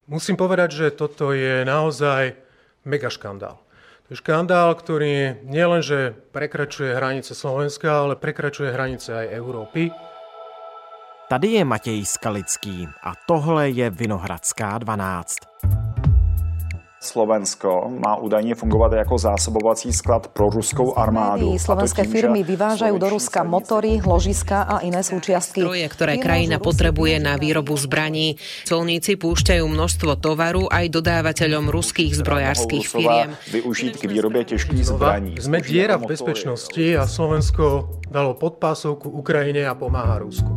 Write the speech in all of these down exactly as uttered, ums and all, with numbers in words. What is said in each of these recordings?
Musím povedať, že toto je naozaj mega škandál. To je škandál, ktorý nielenže prekračuje hranice Slovenska, ale prekračuje hranice aj Európy. Tady je Matěj Skalický a tohle je Vinohradská dvanáct. Slovensko má údajne fungovať ako zásobovací sklad pro ruskou armádu. Slovenské firmy vyvážajú do Ruska motory, ložiska a iné súčiastky. Stroje, ktoré krajina potrebuje na výrobu zbraní. Colníci púšťajú množstvo tovaru aj dodávateľom ruských zbrojárskych firiem. Využiť k výrobe ťažkých zbraní. Sme diera v bezpečnosti a Slovensko dalo podpásovku Ukrajine a pomáha Rusku.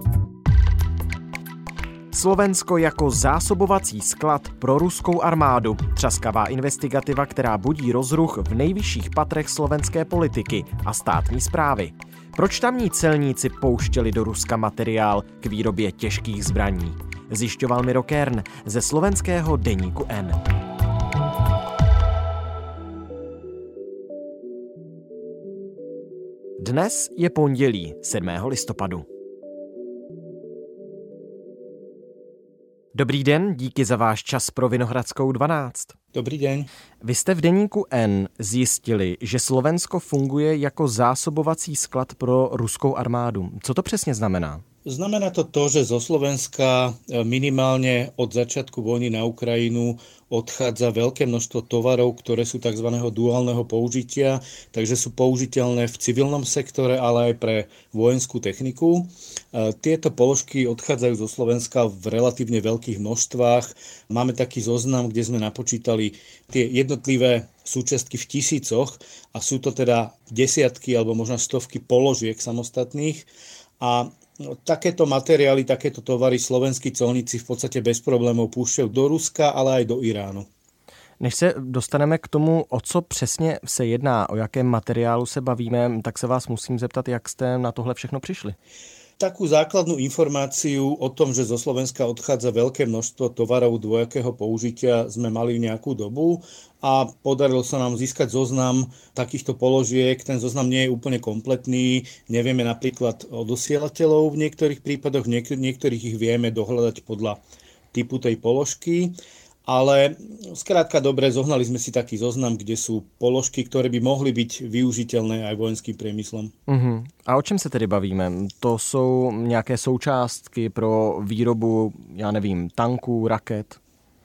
Slovensko jako zásobovací sklad pro ruskou armádu. Třaskavá investigativa, která budí rozruch v nejvyšších patrech slovenské politiky a státní správy. Proč tamní celníci pouštěli do Ruska materiál k výrobě těžkých zbraní? Zjišťoval Miro Kern ze slovenského deníku N. Dnes je pondělí sedmého listopadu. Dobrý den, díky za váš čas pro Vinohradskou dvanáct. Dobrý den. Vy jste v deníku N zjistili, že Slovensko funguje jako zásobovací sklad pro ruskou armádu. Co to přesně znamená? Znamená to to, že zo Slovenska minimálne od začiatku vojny na Ukrajinu odchádza veľké množstvo tovarov, ktoré sú tzv. Duálneho použitia, takže sú použiteľné v civilnom sektore, ale aj pre vojenskú techniku. Tieto položky odchádzajú zo Slovenska v relatívne veľkých množstvách. Máme taký zoznam, kde sme napočítali tie jednotlivé súčiastky v tisícoch a sú to teda desiatky alebo možno stovky položiek samostatných. A No, takéto materiály, takéto tovary slovenskí colníci v podstate bez problémov púšťajú do Ruska, ale aj do Iránu. Než se dostaneme k tomu, o co přesně se jedná, o jakém materiálu se bavíme, tak se vás musím zeptat, jak jste na tohle všechno přišli. Takú základnú informáciu o tom, že zo Slovenska odchádza veľké množstvo tovarov dvojakého použitia, sme mali nejakú dobu a podarilo sa nám získať zoznam takýchto položiek. Ten zoznam nie je úplne kompletný. Nevieme napríklad o dosielateľov v niektorých prípadoch, niek- niektorých ich vieme dohľadať podľa typu tej položky. Ale skrátka dobre, zohnali sme si taký zoznam, kde sú položky, ktoré by mohli byť využiteľné aj vojenským priemyslom. Uh-huh. A o čem se tedy bavíme? To jsou nějaké součástky pro výrobu, já nevím, tanků, raket?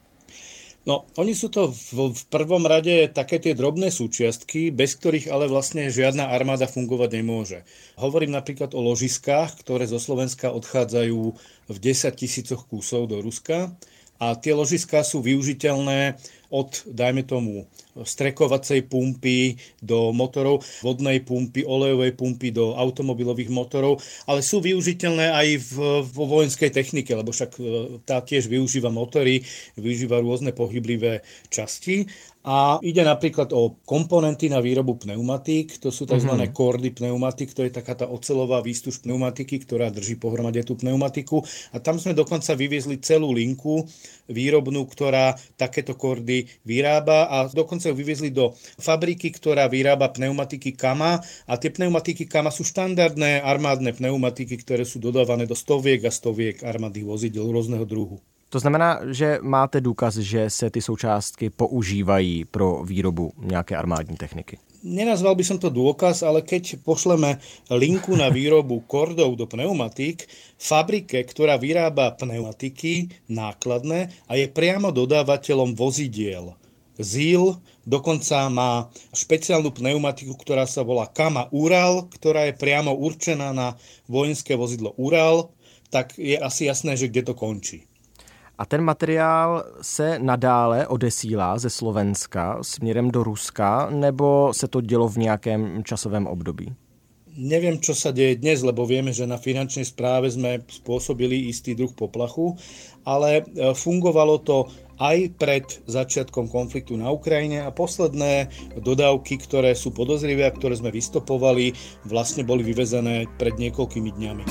No, oni sú to v, v prvom rade také tie drobné súčiastky, bez ktorých ale vlastne žiadna armáda fungovať nemôže. Hovorím napríklad o ložiskách, ktoré zo Slovenska odchádzajú v desaťtisícoch kusov do Ruska. A tie ložiská sú využiteľné od, dajme tomu, strekovacej pumpy do motorov, vodnej pumpy, olejovej pumpy do automobilových motorov, ale sú využiteľné aj v, vo vojenskej technike, lebo však tá tiež využíva motory, využíva rôzne pohyblivé časti. A ide napríklad o komponenty na výrobu pneumatík, to sú tzv. Mm-hmm. kordy pneumatik, to je taká tá oceľová výstuž pneumatiky, ktorá drží pohromade tú pneumatiku. A tam sme dokonca vyviezli celú linku výrobnú, ktorá takéto kordy vyrába a dokonca ju vyviezli do fabriky, ktorá vyrába pneumatiky Kama a tie pneumatiky Kama sú štandardné armádne pneumatiky, ktoré sú dodávané do stoviek a stoviek armádnych vozidel rôzneho druhu. To znamená, že máte důkaz, že se ty součástky používají pro výrobu nějaké armádní techniky? Nenazval by som to dôkaz, ale keď pošleme linku na výrobu kordov do pneumatík, fabrike, ktorá vyrába pneumatiky nákladné a je priamo dodávateľom vozidiel Zil, dokonca má špeciálnu pneumatiku, ktorá sa volá Kama Ural, ktorá je priamo určená na vojenské vozidlo Ural, tak je asi jasné, že kde to končí. A ten materiál se nadále odesílá ze Slovenska směrem do Ruska, nebo se to dělo v nějakém časovém období? Neviem, čo sa deje dnes, lebo vieme, že na finančnej správe sme spôsobili istý druh poplachu, ale fungovalo to aj pred začiatkom konfliktu na Ukrajine a posledné dodávky, ktoré sú podozrivé a ktoré sme vystopovali, vlastne boli vyvezené pred niekoľkými dňami.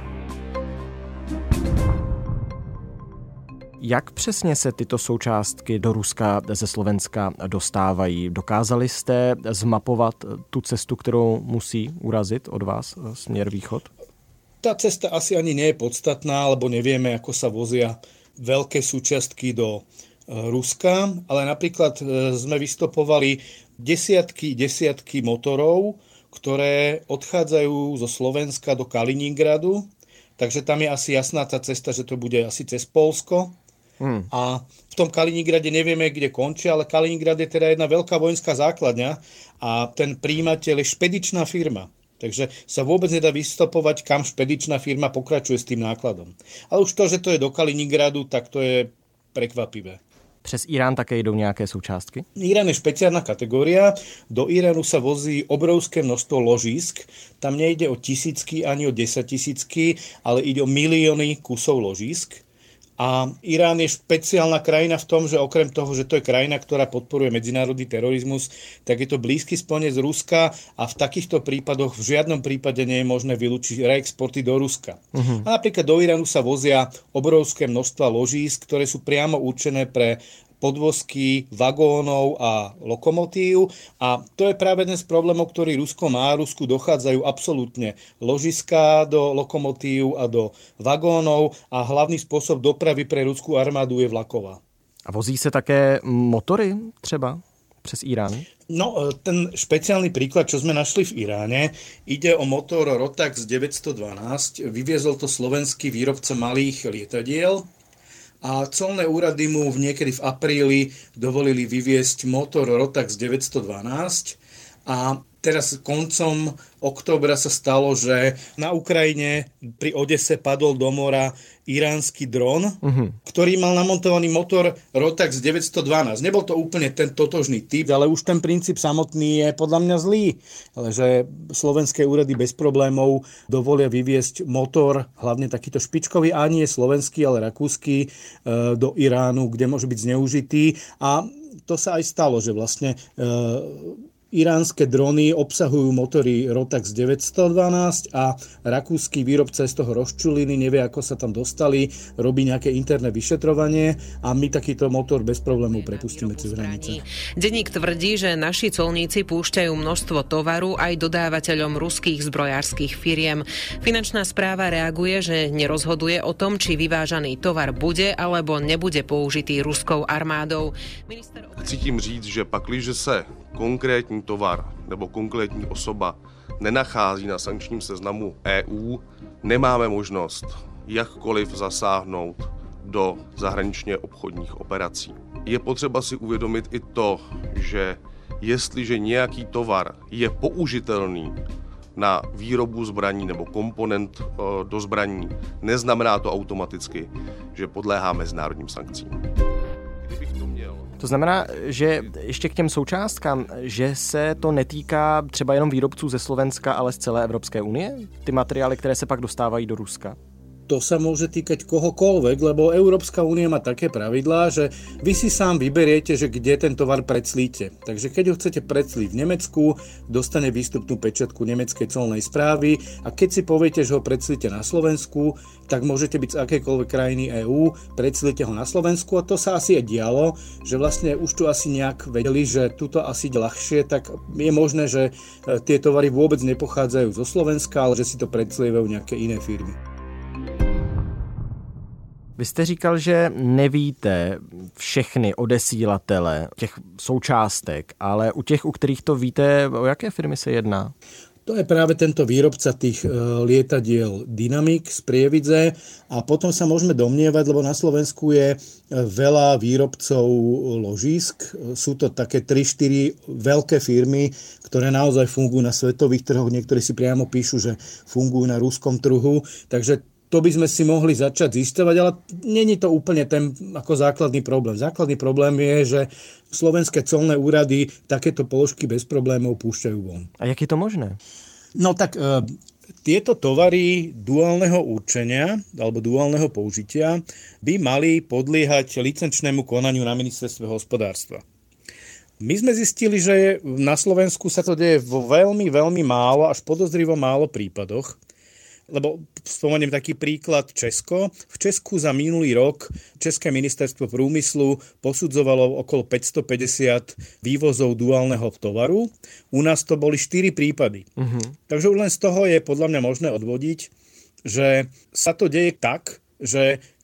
Jak přesně se tyto součástky do Ruska ze Slovenska dostávají? Dokázali jste zmapovat tu cestu, kterou musí urazit od vás směr východ? Tá cesta asi ani nie je podstatná, lebo nevieme, ako sa vozia veľké súčiastky do Ruska, ale napríklad sme vystopovali desiatky, desiatky motorov, ktoré odchádzajú zo Slovenska do Kaliningradu, takže tam je asi jasná tá cesta, že to bude asi cez Poľsko. Hmm. A v tom Kaliningrade nevieme, kde končí, ale Kaliningrad je teda jedna veľká vojenská základňa a ten prijímateľ je špedičná firma. Takže sa vôbec nedá vystopovať, kam špedičná firma pokračuje s tým nákladom. Ale už to, že to je do Kaliningradu, tak to je prekvapivé. Přes Irán také jdou nějaké součástky? Irán je špeciálna kategória. Do Iránu sa vozí obrovské množstvo ložísk. Tam nejde o tisícky ani o desaťtisícky, ale ide o milióny kusov ložísk. A Irán je špeciálna krajina v tom, že okrem toho, že to je krajina, ktorá podporuje medzinárodný terorizmus, tak je to blízky spojenec Ruska a v takýchto prípadoch v žiadnom prípade nie je možné vylúčiť reexporty do Ruska. Uh-huh. A napríklad do Iránu sa vozia obrovské množstva ložísk, ktoré sú priamo určené pre podvozky vagónov a lokomotív a to je práve jeden z problémov, ktorý Rusko má. Rusku dochádzajú absolútne ložiská do lokomotív a do vagónov a hlavný spôsob dopravy pre ruskú armádu je vlaková. A vozí se také motory třeba přes Irán? No, ten špeciálny príklad, čo sme našli v Iráne, ide o motor Rotax deväťsto dvanásť. Vyviezol to slovenský výrobca malých lietadiel a colné úrady mu v niekedy v apríli dovolili vyviesť motor Rotax deväťsto dvanásť a teraz koncom októbra sa stalo, že na Ukrajine pri Odese padol do mora iránsky dron, uh-huh. ktorý mal namontovaný motor Rotax deväťsto dvanásť. Nebol to úplne ten totožný typ, ale už ten princíp samotný je podľa mňa zlý. Ale že slovenské úrady bez problémov dovolia vyviesť motor, hlavne takýto špičkový, a nie slovenský, ale rakúsky, do Iránu, kde môže byť zneužitý. A to sa aj stalo, že vlastne iránske drony obsahujú motory Rotax deväťsto dvanásť a rakúsky výrobca z toho rozčuliny, nevie, ako sa tam dostali, robí nejaké interné vyšetrovanie a my takýto motor bez problémov prepustíme cez hranice. Denník tvrdí, že naši colníci púšťajú množstvo tovaru aj dodávateľom ruských zbrojárskych firiem. Finančná správa reaguje, že nerozhoduje o tom, či vyvážaný tovar bude alebo nebude použitý ruskou armádou. Minister... Chci tím říct, že pakliže se konkrétní tovar nebo konkrétní osoba nenachází na sankčním seznamu E U, nemáme možnost jakkoliv zasáhnout do zahraničně obchodních operací. Je potřeba si uvědomit i to, že jestliže nějaký tovar je použitelný na výrobu zbraní nebo komponent do zbraní, neznamená to automaticky, že podléhá mezinárodním sankcím. To znamená, že ještě k těm součástkám, že se to netýká třeba jenom výrobců ze Slovenska, ale z celé Evropské unie? Ty materiály, které se pak dostávají do Ruska? To sa môže týkať kohokoľvek, lebo Európska únia má také pravidlá, že vy si sám vyberiete, že kde ten tovar preclíte. Takže keď ho chcete preclíť v Nemecku, dostane výstupnú pečatku nemeckej colnej správy a keď si poviete, že ho preclíte na Slovensku, tak môžete byť z akejkoľvek krajiny E Ú, preclíte ho na Slovensku a to sa asi aj dialo, že vlastne už tu asi nejak vedeli, že tuto asi ľahšie, tak je možné, že tie tovary vôbec nepochádzajú zo Slovenska, ale že si to preclievajú nejaké iné firmy. Vy jste říkal, že nevíte všechny odesílatele těch součástek, ale u těch, u kterých to víte, o jaké firmy se jedná? To je práve tento výrobca tých lietadiel Dynamic z Prievidze a potom sa môžeme domnievať, lebo na Slovensku je veľa výrobcov ložísk. Sú to také tri štyri veľké firmy, ktoré naozaj fungujú na svetových trhoch. Niektorí si priamo píšu, že fungujú na ruskom trhu. Takže to by sme si mohli začať zisťovať, ale není to úplne ten ako základný problém. Základný problém je, že slovenské colné úrady takéto položky bez problémov púšťajú von. A jak je to možné? No tak e, tieto tovary duálneho určenia alebo duálneho použitia by mali podliehať licenčnému konaniu na ministerstve hospodárstva. My sme zistili, že na Slovensku sa to deje vo veľmi, veľmi málo, až podozrivo málo prípadoch. Lebo spomeniem taký príklad Česko. V Česku za minulý rok České ministerstvo průmyslu posudzovalo okolo päťstopäťdesiat vývozov duálneho tovaru. U nás to boli štyri prípady. Uh-huh. Takže už len z toho je podľa mňa možné odvodiť, že sa to deje tak, že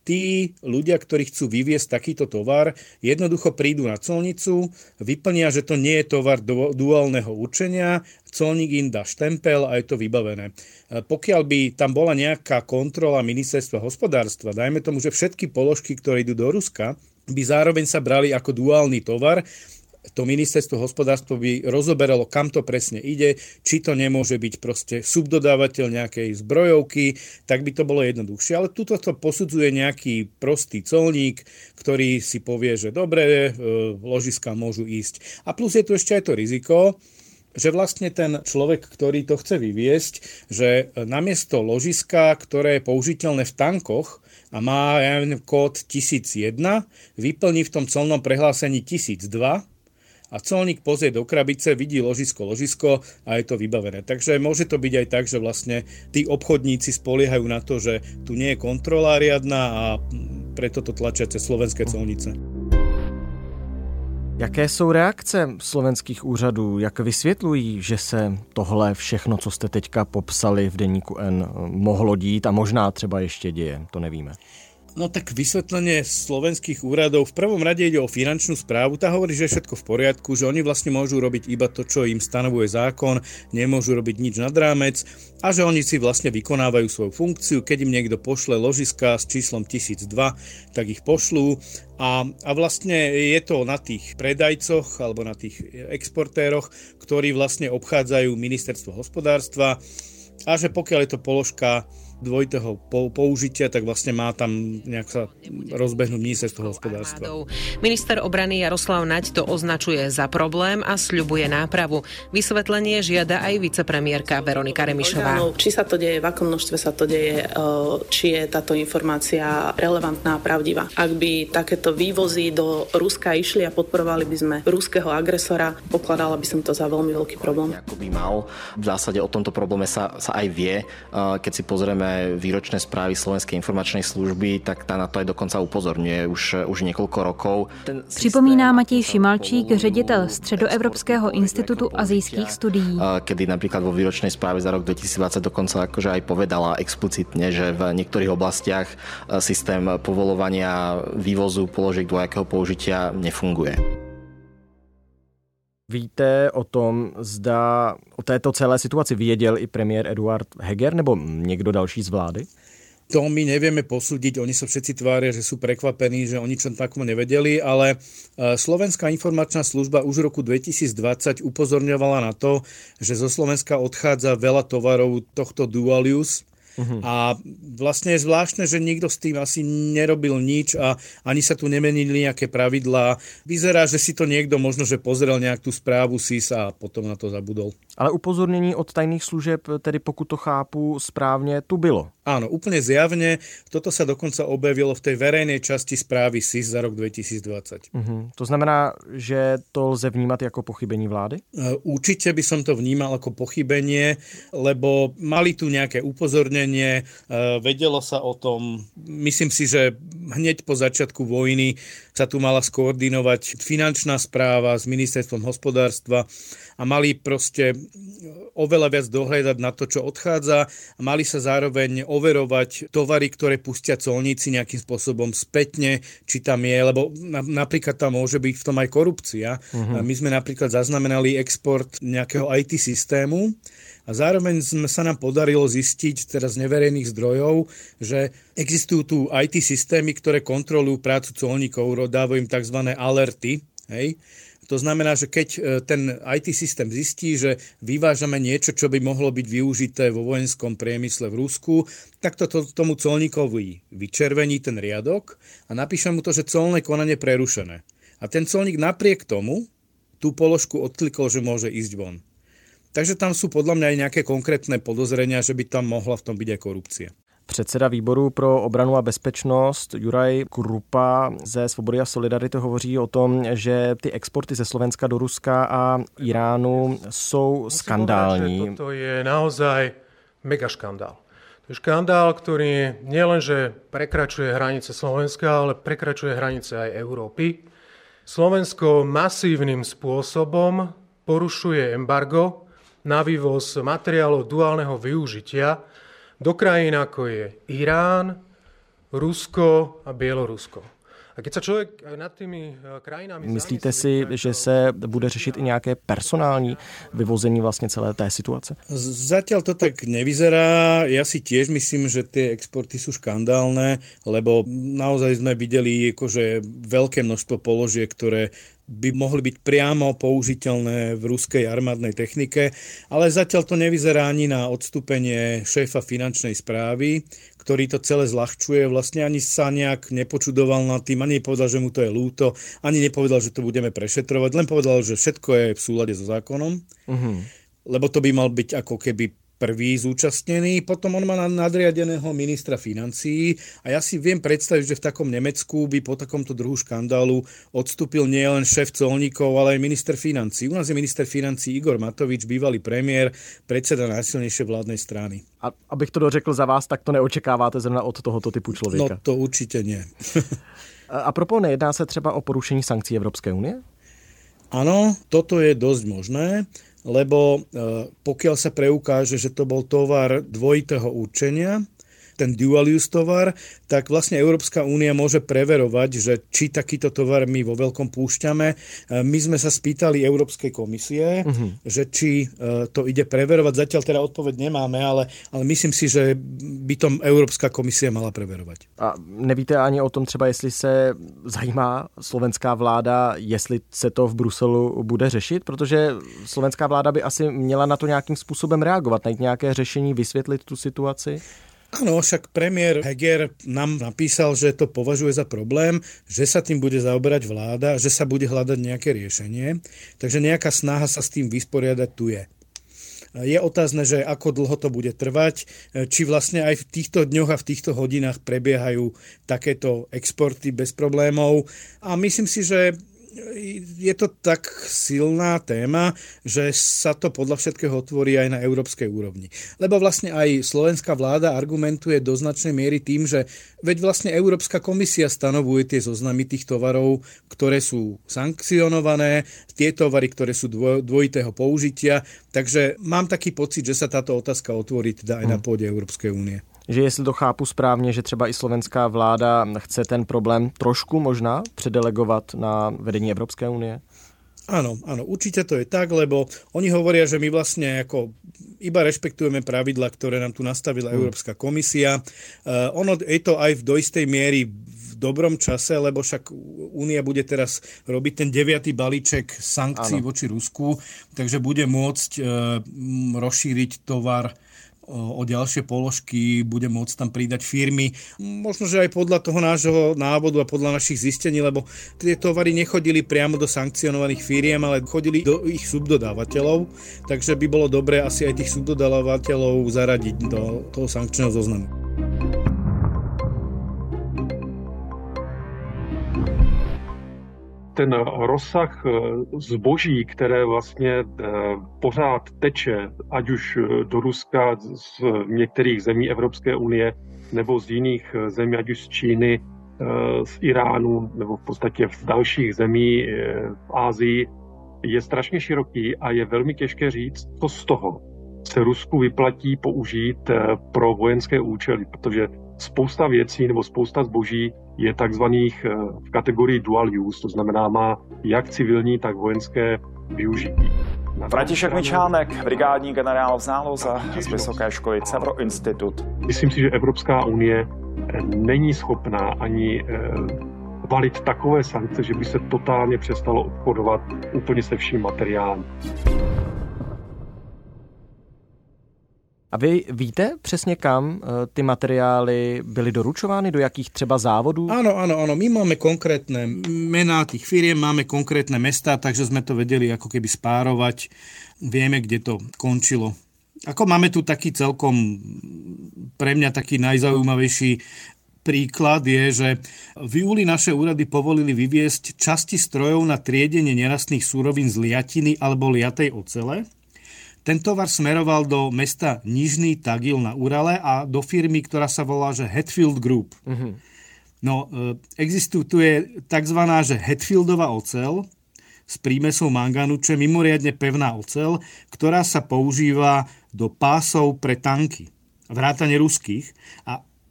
tí ľudia, ktorí chcú vyviesť takýto tovar, jednoducho prídu na colnicu, vyplnia, že to nie je tovar duálneho určenia, colník im dá štempel a je to vybavené. Pokiaľ by tam bola nejaká kontrola ministerstva hospodárstva, dajme tomu, že všetky položky, ktoré idú do Ruska, by zároveň sa brali ako duálny tovar, to ministerstvo hospodárstva by rozoberalo, kam to presne ide, či to nemôže byť proste subdodávateľ nejakej zbrojovky, tak by to bolo jednoduchšie. Ale tuto to posudzuje nejaký prostý colník, ktorý si povie, že dobre, ložiská môžu ísť. A plus je tu ešte aj to riziko, že vlastne ten človek, ktorý to chce vyviesť, že namiesto ložiska, ktoré je použiteľné v tankoch a má ja neviem, kód tisíc jeden, vyplní v tom colnom prehlásení tisíc dva, a colník pozrie do krabice, vidí ložisko, ložisko a je to vybavené. Takže môže to byť aj tak, že vlastne tí obchodníci spoliehajú na to, že tu nie je kontrola riadna a preto to tlačia cez slovenské colnice. Jaké jsou reakce slovenských úřadů? Jak vysvětlují, že se tohle všechno, co jste teďka popsali v Deníku N, mohlo dít a možná třeba ještě děje? To nevíme. No tak vysvetlenie slovenských úradov, v prvom rade ide o finančnú správu, tá hovorí, že je všetko v poriadku, že oni vlastne môžu robiť iba to, čo im stanovuje zákon, nemôžu robiť nič nad rámec a že oni si vlastne vykonávajú svoju funkciu, keď im niekto pošle ložiska s číslom tisíc dva, tak ich pošlú a, a vlastne je to na tých predajcoch alebo na tých exportéroch, ktorí vlastne obchádzajú ministerstvo hospodárstva a že pokiaľ je to položka dvojitého použitia, tak vlastne má tam nejak sa rozbehnúť ministerstvo hospodárstva. Minister obrany Jaroslav Naď to označuje za problém a sľubuje nápravu. Vysvetlenie žiada aj vicepremiérka Veronika Remišová. Či sa to deje, v akom množstve sa to deje, či je táto informácia relevantná a pravdivá. Ak by takéto vývozy do Ruska išli a podporovali by sme ruského agresora, pokladala by som to za veľmi veľký problém. Ako by mal, v zásade o tomto probléme sa, sa aj vie, keď si pozrieme výročné správy Slovenskej informačnej služby, tak tá na to aj dokonca upozorňuje už, už niekoľko rokov. Připomíná Matěj Šimalčík, ředitel Středoevropského institutu azijských studií. Kedy napríklad vo výročnej správe za rok dvetisícdvadsať dokonca akože aj povedala explicitne, že v niektorých oblastiach systém povolovania vývozu položiek dvojakého použitia nefunguje. Víte o tom, zda o této celé situaci věděl i premiér Eduard Heger nebo někdo další z vlády? To my nevieme posúdiť, oni sa všetci tvária, že sú prekvapení, že oni čo takom nevedeli, ale Slovenská informačná služba už v roku dvetisícdvadsať upozorňovala na to, že zo Slovenska odchádza veľa tovarov tohto dual use. Uhum. A vlastne je zvláštne, že nikto s tým asi nerobil nič a ani sa tu nemenili nejaké pravidlá. Vyzerá, že si to niekto možno, že pozrel nejak tú správu es í es a potom na to zabudol. Ale upozornění od tajných služeb, tedy pokud to chápu správně, tu bylo. Áno, úplne zjavne. Toto sa dokonca objavilo v tej verejnej časti správy es í es za rok dvetisícdvadsať. Uh-huh. To znamená, že to lze vnímať ako pochybení vlády? Určite by som to vnímal ako pochybenie, lebo mali tu nejaké upozornenie, vedelo sa o tom. Myslím si, že hneď po začiatku vojny sa tu mala skoordinovať finančná správa s ministerstvom hospodárstva a mali proste oveľa viac dohľadať na to, čo odchádza a mali sa zároveň overovať tovary, ktoré pustia colníci nejakým spôsobom spätne, či tam je, lebo napríklad tam môže byť v tom aj korupcia. Uh-huh. My sme napríklad zaznamenali export nejakého í té systému a zároveň sa nám podarilo zistiť teraz z neverejných zdrojov, že existujú tu í té systémy, ktoré kontrolujú prácu colníkov, dávajú im tzv. Alerty, hej. To znamená, že keď ten í té systém zistí, že vyvážame niečo, čo by mohlo byť využité vo vojenskom priemysle v Rusku, tak to, to tomu colníkovi vyčervení ten riadok a napíše mu to, že colné konanie prerušené. A ten colník napriek tomu tú položku odklikol, že môže ísť von. Takže tam sú podľa mňa aj nejaké konkrétne podozrenia, že by tam mohla v tom byť aj korupcia. Předseda výboru pro obranu a bezpečnost Juraj Krupa ze Svobody a Solidarity hovoří o tom, že ty exporty ze Slovenska do Ruska a Iránu jsou skandální. Toto je naozaj mega škandál. To je škandál, ktorý nielenže prekračuje hranice Slovenska, ale prekračuje hranice aj Európy. Slovensko masívnym spôsobom porušuje embargo na vývoz materiálov duálneho využitia do krajín ako je Irán, Rusko a Bielorusko. A keď sa človek nad tými krajinami... Myslíte si, že se bude řešit i nějaké personální vyvození vlastně celé té situace? Zatiaľ to tak nevyzerá. Ja si tiež myslím, že tie exporty sú škandálne, lebo naozaj sme videli akože veľké množstvo položiek, ktoré by mohli byť priamo použiteľné v ruskej armádnej technike, ale zatiaľ to nevyzerá ani na odstúpenie šéfa finančnej správy, ktorý to celé zľahčuje. Vlastne ani sa nejak nepočudoval nad tým, ani nepovedal, že mu to je ľúto, ani nepovedal, že to budeme prešetrovať, len povedal, že všetko je v súlade so zákonom, uh-huh. lebo to by mal byť ako keby prvý zúčastnený, potom on má nadriadeného ministra financií a ja si viem predstaviť, že v takom Nemecku by po takomto druhu škandálu odstúpil nielen šéf colníkov, ale aj minister financií. U nás je minister financií Igor Matovič, bývalý premiér, predseda najsilnejšej vládnej strany. A abych to dořekl za vás, tak to neočekáváte zrovna od tohoto typu člověka? No to určitě nie. A propos, nejedná se třeba o porušení sankcí Evropské unie? Áno, toto je dosť možné, lebo pokiaľ sa preukáže, že to bol tovar dvojitého určenia, ten dual use tovar, tak vlastne Európska únia môže preverovať, že či takýto tovar my vo veľkom púšťame. My sme sa spýtali Európskej komisie, uh-huh. že či to ide preverovať. Zatiaľ teda odpoveď nemáme, ale, ale myslím si, že by to Európska komisia mala preverovať. A nevíte ani o tom třeba, jestli se zajímá slovenská vláda, jestli se to v Bruselu bude řešit, protože slovenská vláda by asi měla na to nějakým způsobem reagovat, najít nějaké řešení, vysvětlit tu situaci. Áno, však premiér Heger nám napísal, že to považuje za problém, že sa tým bude zaoberať vláda, že sa bude hľadať nejaké riešenie. Takže nejaká snaha sa s tým vysporiadať tu je. Je otázne, že ako dlho to bude trvať, či vlastne aj v týchto dňoch a v týchto hodinách prebiehajú takéto exporty bez problémov. A myslím si, že je to tak silná téma, že sa to podľa všetkého otvorí aj na európskej úrovni. Lebo vlastne aj slovenská vláda argumentuje do značnej miery tým, že veď vlastne Európska komisia stanovuje tie zoznamy tých tovarov, ktoré sú sankcionované, tie tovary, ktoré sú dvojitého použitia. Takže mám taký pocit, že sa táto otázka otvorí teda aj na pôde Európskej únie. Že jestli to chápu správně, že třeba i slovenská vláda chce ten problém trošku možná předelegovat na vedení Evropské unie? Áno, áno, určite to je tak, lebo oni hovoria, že my vlastne ako iba rešpektujeme pravidla, ktoré nám tu nastavila hmm. Európska komisia. Uh, ono je to aj v do istej miery v dobrom čase, lebo však Únia bude teraz robiť ten deviatý balíček sankcií áno. voči Rusku, takže bude môcť uh, rozšíriť tovar o ďalšie položky, bude môcť tam pridať firmy. Možno, že aj podľa toho nášho návodu a podľa našich zistení, lebo tie tovary nechodili priamo do sankcionovaných firiem, ale chodili do ich subdodávateľov, takže by bolo dobré asi aj tých subdodávateľov zaradiť do toho sankčného zoznamu. Ten rozsah zboží, které vlastně pořád teče, ať už do Ruska, z některých zemí Evropské unie, nebo z jiných zemí, ať už z Číny, z Iránu, nebo v podstatě v dalších zemí v Asii, je strašně široký a je velmi těžké říct, co z toho se Rusku vyplatí použít pro vojenské účely, protože spousta věcí nebo spousta zboží je takzvaných v kategorii dual use, to znamená má jak civilní, tak vojenské využití. František Mičánek, brigádní generál v záloze z Vysoké školy Cevro Institut. Myslím si, že Evropská unie není schopná ani valit takové sankce, že by se totálně přestalo obchodovat úplně se vším materiálem. A vy víte přesně, kam ty materiály byly doručovány, do jakých třeba závodů? Áno, áno, áno. My máme konkrétne mená tých firiem, máme konkrétne mestá, takže sme to vedeli ako keby spárovať. Vieme, kde to končilo. Ako máme tu taký celkom pre mňa taký najzaujímavejší príklad je, že v júli naše úrady povolili vyviesť časti strojov na triedenie nerastných súrovín z liatiny alebo liatej ocele. Ten tovar smeroval do mesta Nižný Tagil na Urale a do firmy, ktorá sa volá že Hatfield Group. Uh-huh. No, existuje takzvaná že Hatfieldová oceľ s prímesou mangánu, čo je mimoriadne pevná oceľ, ktorá sa používa do pásov pre tanky, vrátane ruských. A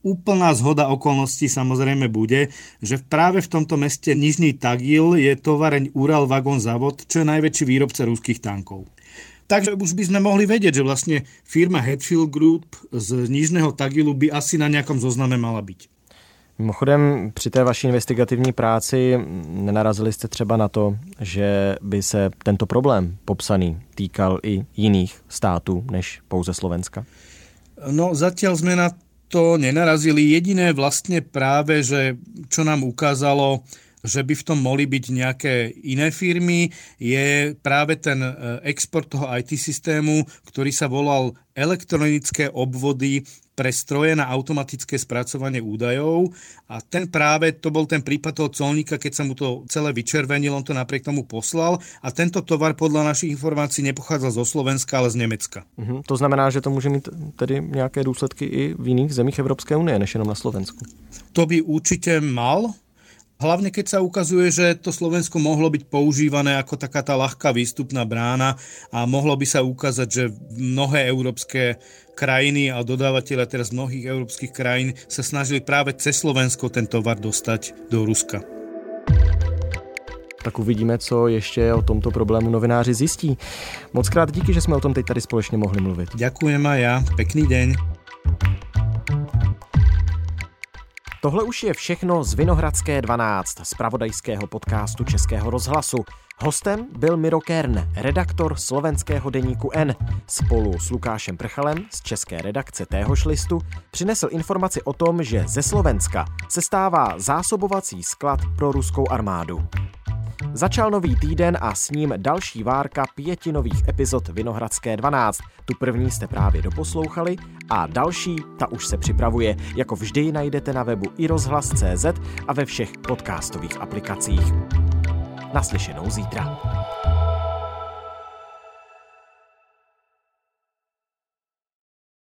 úplná zhoda okolností samozrejme bude, že práve v tomto meste Nižný Tagil je tovareň Ural Vagon Zavod, čo je najväčší výrobca ruských tankov. Takže už by sme mohli vedieť, že vlastne firma Hatfield Group z Nižného Tagilu by asi na nejakom zozname mala byť. Mimochodem, při té vaší investigativní práci nenarazili jste třeba na to, že by se tento problém popsaný týkal i jiných států než pouze Slovenska? No, zatiaľ sme na to nenarazili. Jediné vlastne práve, že čo nám ukázalo, že by v tom mohli byť nejaké iné firmy, je práve ten export toho í té systému, ktorý sa volal elektronické obvody pre stroje na automatické spracovanie údajov a ten práve, to bol ten prípad toho colníka, keď sa mu to celé vyčervenil, on to napriek tomu poslal a tento tovar podľa našich informácií nepochádzal zo Slovenska, ale z Nemecka. Mhm, to znamená, že to môže mít tedy nejaké dôsledky i v iných zemích Európskej únie, než jenom na Slovensku. To by určite mal. Hlavne keď sa ukazuje, že to Slovensko mohlo byť používané ako taká tá ľahká výstupná brána a mohlo by sa ukázať, že mnohé európske krajiny a dodávateľe teraz mnohých európskych krajín sa snažili práve cez Slovensko ten tovar dostať do Ruska. Tak uvidíme, co ještě o tomto problému novináři zjistí. Moc krát díky, že jsme o tom teď tady společně mohli mluvit. Ďakujem aj ja. Pekný deň. Tohle už je všechno z Vinohradské dvanáct, z pravodajského podcastu Českého rozhlasu. Hostem byl Miro Kern, redaktor slovenského deníku N. Spolu s Lukášem Prchalem z české redakce téhož listu přinesl informaci o tom, že ze Slovenska se stává zásobovací sklad pro ruskou armádu. Začal nový týden a s ním další várka pěti nových epizod Vinohradské dvanáct. Tu první jste právě doposlouchali a další, ta už se připravuje. Jako vždy najdete na webu i rozhlas tečka cé zet a ve všech podcastových aplikacích. Naslyšenou zítra.